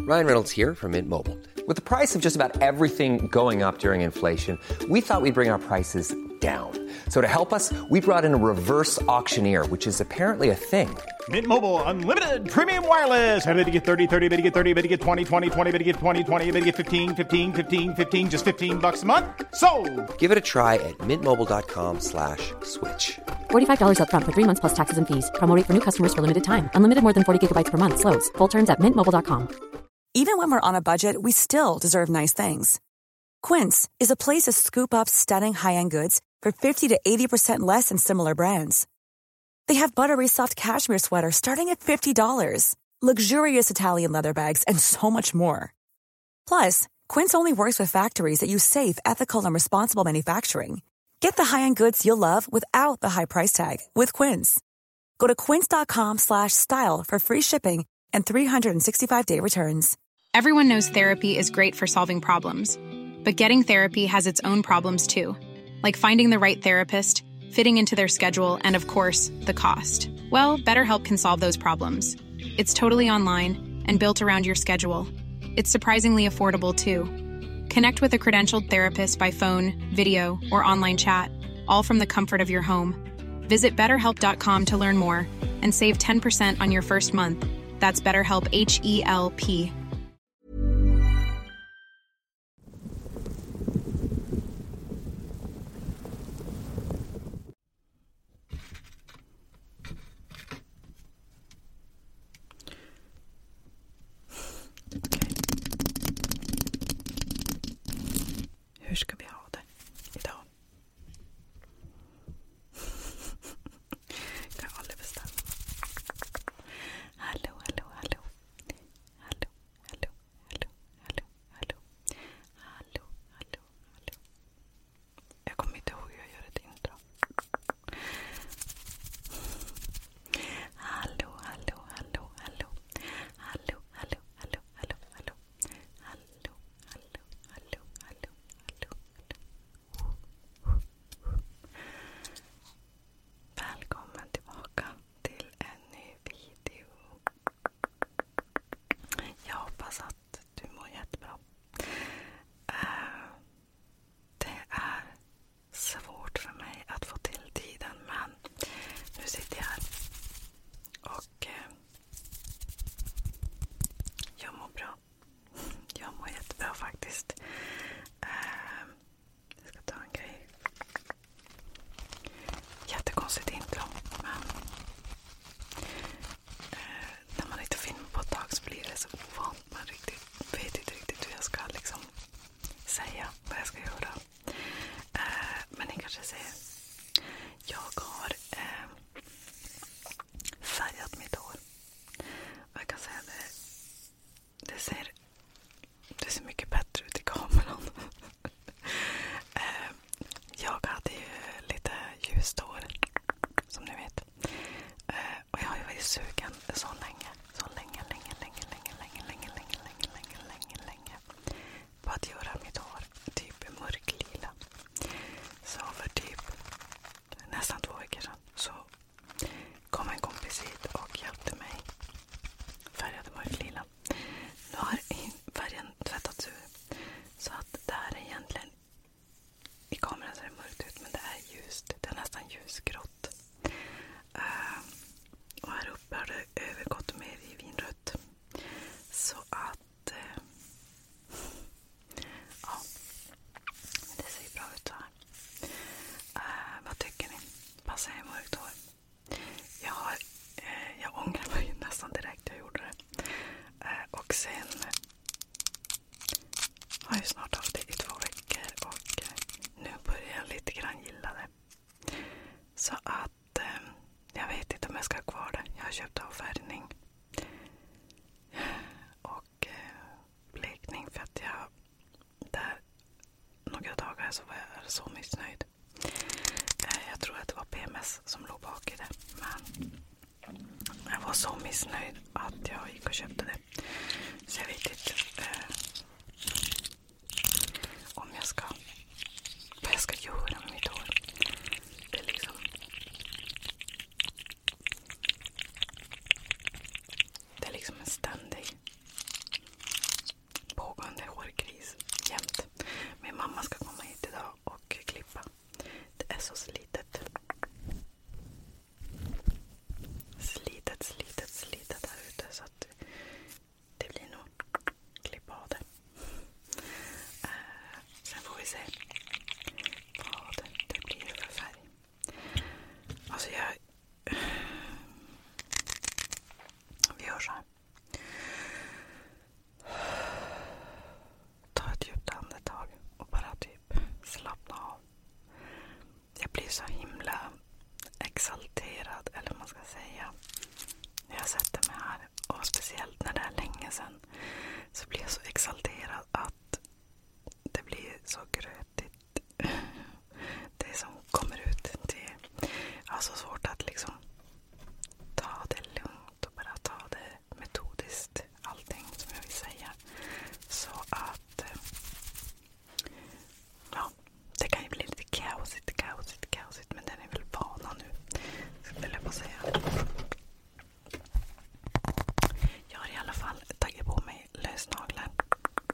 Ryan Reynolds here from Mint Mobile. With the price of just about everything going up during inflation, we thought we'd bring our prices down. So to help us, we brought in a reverse auctioneer, which is apparently a thing. Mint Mobile Unlimited Premium Wireless. How to get 30, 30, bit to get 30, bit to get 20, 20, 20, bit to get 20, 20, bit to get 15, 15, 15, 15, just $15 a month? Sold! Give it a try at mintmobile.com/switch. $45 up front for 3 months plus taxes and fees. Promo rate for new customers for limited time. Unlimited more than 40 gigabytes per month. Slows full terms at mintmobile.com. Even when we're on a budget, we still deserve nice things. Quince is a place to scoop up stunning high-end goods for 50 to 80% less than similar brands. They have buttery soft cashmere sweaters starting at $50, luxurious Italian leather bags, and so much more. Plus, Quince only works with factories that use safe, ethical, and responsible manufacturing. Get the high-end goods you'll love without the high price tag with Quince. Go to quince.com/style for free shipping and 365-day returns. Everyone knows therapy is great for solving problems, but getting therapy has its own problems too, like finding the right therapist, fitting into their schedule, and of course, the cost. Well, BetterHelp can solve those problems. It's totally online and built around your schedule. It's surprisingly affordable too. Connect with a credentialed therapist by phone, video, or online chat, all from the comfort of your home. Visit BetterHelp.com to learn more and save 10% on your first month. That's BetterHelp, H-E-L-P. Hur ska vi ha det idag? Kan aldrig bestämma. Hallå, hallå, hallå. Hallå, hallå, hallå, hallå, hallå. Hallå, hallå, hallå. Jag kommer inte ihåg hur jag gör ett intro. Hallå, hallå, hallå, hallå. Hallå, hallå, hallå, hallå, hallå. Hallå, hallå, hallå, hallå. Välkommen tillbaka till en ny video. Jag hoppas att du mår jättebra. Det är svårt för mig att få till tiden, men nu sitter jag här och jag mår bra. Jag mår jättebra faktiskt. Jag ska ta en grej. Jättekonstigt intro, men när man inte filmar på ett tag så blir det så ovant. Man vet inte riktigt hur jag ska liksom säga vad jag ska göra. Men ni kanske ser, jag har färgat mitt hår. Och jag kan säga det ser mycket bättre ut i kameran. Jag hade ju lite ljust hår, som ni vet. Och jag har ju varit sugen så länge på att göra mitt hår typ mörklila. Så för typ nästan 2 veckor sedan så kom en kompis hit och hjälpte mig färgade mörklila. Nu har färgen tvättats ur, så att det här är egentligen, i kameran ser det mörkt ut, men det är ljust. Det är nästan ljusgrått. Och här uppe har det övergått mer i vinrött. Så att ja, det ser bra ut så här. Vad tycker ni? Passar jag i mörkt hår? Jag ångrar mig nästan direkt jag gjorde det. Och sen har jag snart haft det i 2 veckor och nu börjar jag lite grann gilla det. Så att jag vet inte om jag ska ha kvar det. Jag har köpt avfärgning och blekning för att jag där några dagar så var jag så missnöjd. Jag tror att det var PMS som låg bak i det, men jag var så missnöjd att jag gick och köpte det. Så jag vet inte om jag ska, vad jag ska göra med mitt hår. Det är liksom, en ständig så blir jag så exalterad att det blir så grötigt. Det som kommer ut. Jag har så svårt att liksom ta det lugnt och bara ta det metodiskt. Allting som jag vill säga. Så att ja, det kan ju bli lite kaosigt. Men den är väl vana nu. Vill jag bara säga. Jag har i alla fall tagit på mig lösnaglar.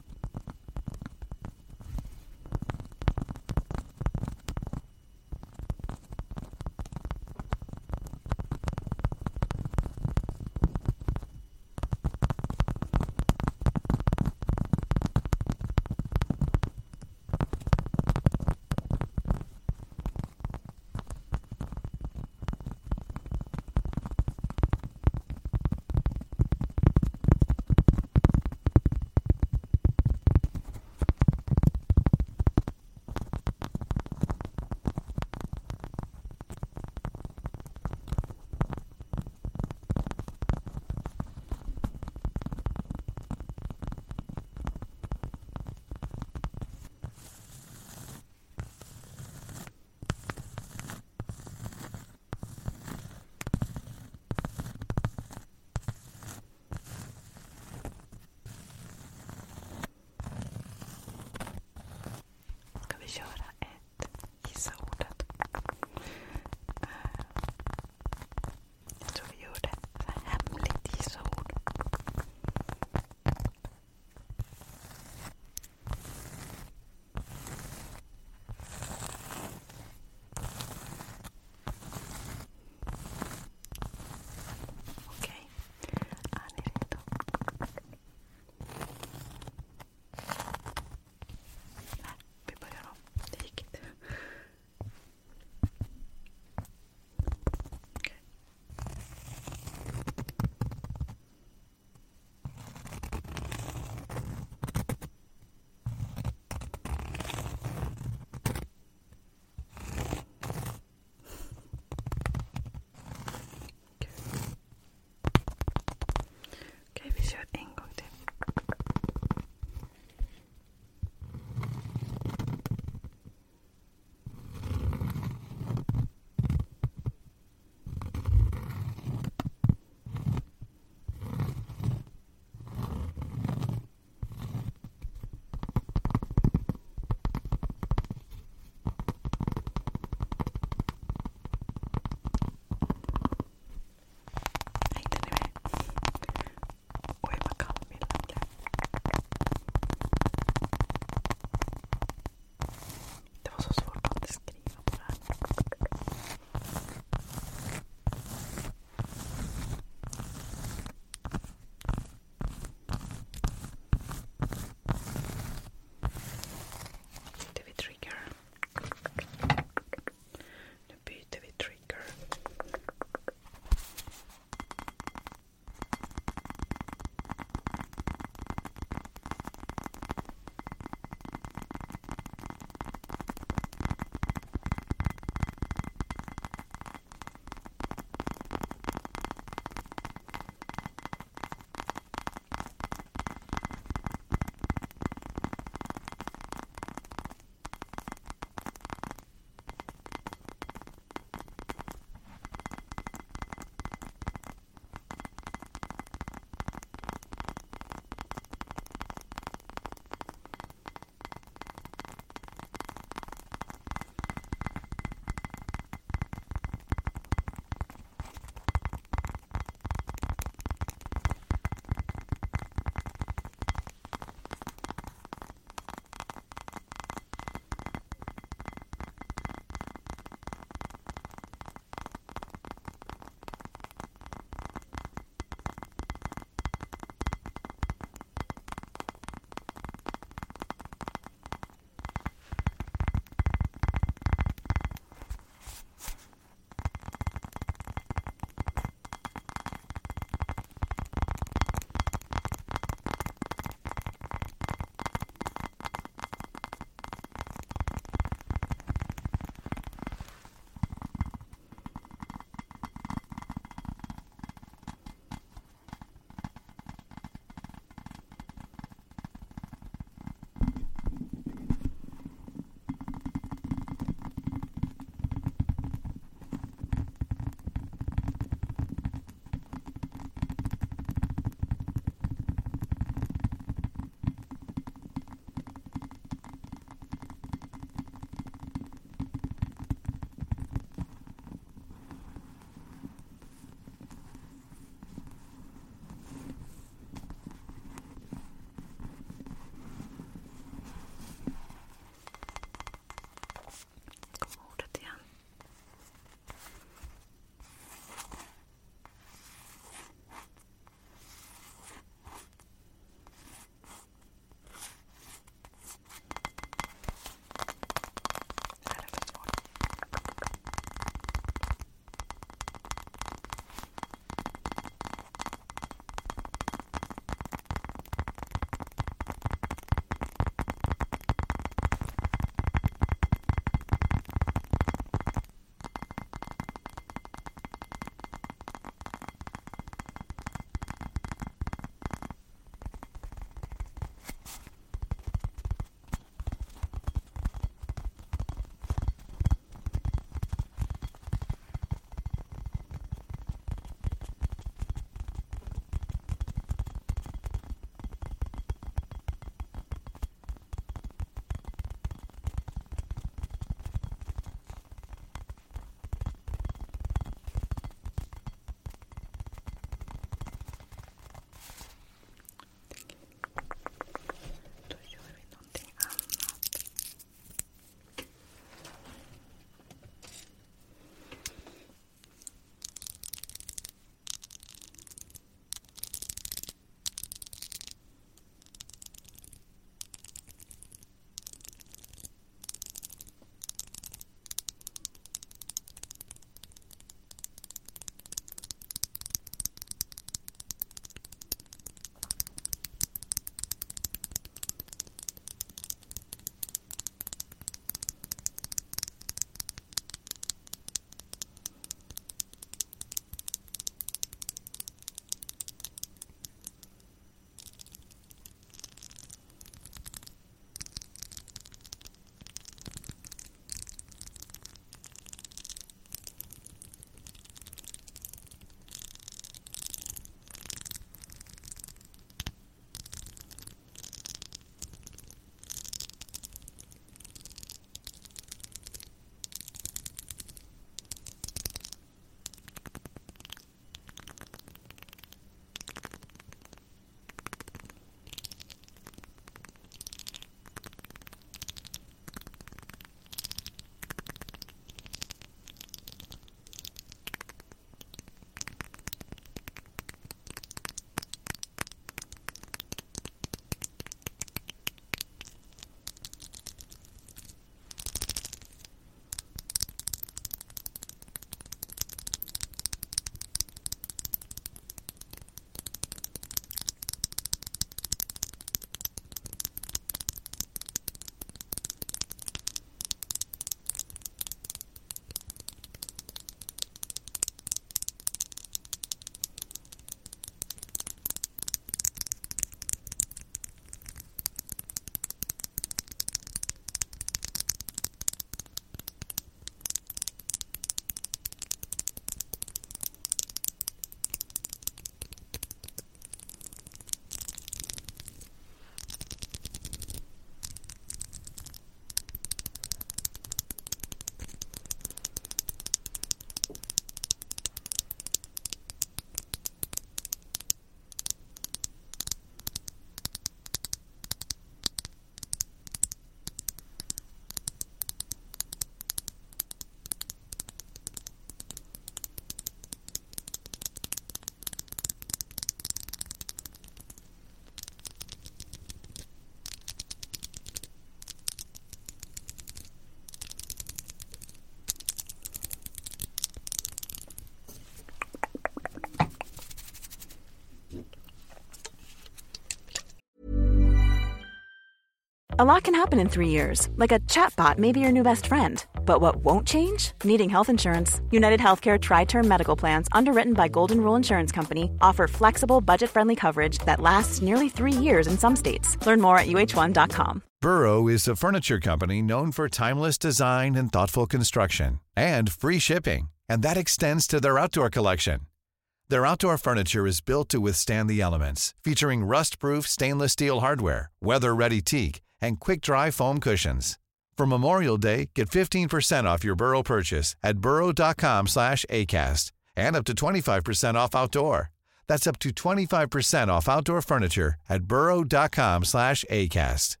A lot can happen in 3 years, like a chatbot may be your new best friend. But what won't change? Needing health insurance. United Healthcare Tri-Term Medical Plans, underwritten by Golden Rule Insurance Company, offer flexible, budget-friendly coverage that lasts nearly 3 years in some states. Learn more at uh1.com. Burrow is a furniture company known for timeless design and thoughtful construction, and free shipping, and that extends to their outdoor collection. Their outdoor furniture is built to withstand the elements, featuring rust-proof stainless steel hardware, weather-ready teak, and quick-dry foam cushions. For Memorial Day, get 15% off your Burrow purchase at burrow.com/acast, and up to 25% off outdoor. That's up to 25% off outdoor furniture at burrow.com/acast.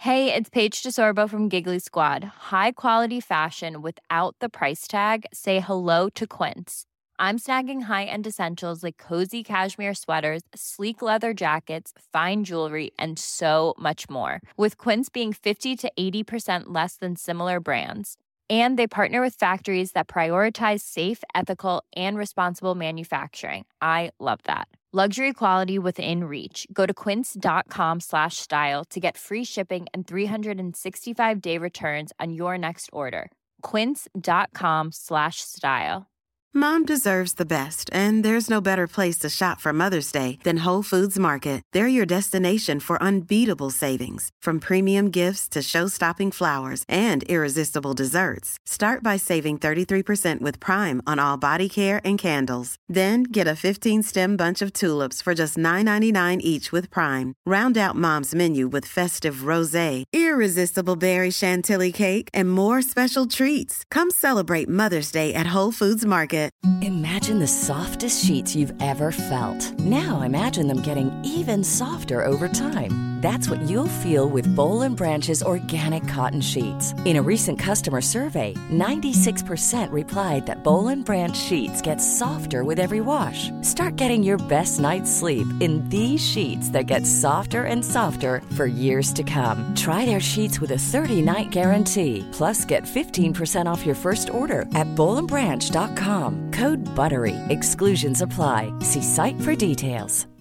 Hey, it's Paige DeSorbo from Giggly Squad. High quality fashion without the price tag. Say hello to Quince. I'm snagging high-end essentials like cozy cashmere sweaters, sleek leather jackets, fine jewelry, and so much more. With Quince being 50 to 80% less than similar brands. And they partner with factories that prioritize safe, ethical, and responsible manufacturing. I love that. Luxury quality within reach. Go to quince.com/style to get free shipping and 365-day returns on your next order. Quince.com/style. Mom deserves the best, and there's no better place to shop for Mother's Day than Whole Foods Market. They're your destination for unbeatable savings, from premium gifts to show-stopping flowers and irresistible desserts. Start by saving 33% with Prime on all body care and candles. Then get a 15-stem bunch of tulips for just $9.99 each with Prime. Round out Mom's menu with festive rosé, irresistible berry chantilly cake, and more special treats. Come celebrate Mother's Day at Whole Foods Market. Imagine the softest sheets you've ever felt. Now imagine them getting even softer over time. That's what you'll feel with Boll & Branch's organic cotton sheets. In a recent customer survey, 96% replied that Boll & Branch sheets get softer with every wash. Start getting your best night's sleep in these sheets that get softer and softer for years to come. Try their sheets with a 30-night guarantee. Plus, get 15% off your first order at bollandbranch.com. Code BUTTERY. Exclusions apply. See site for details.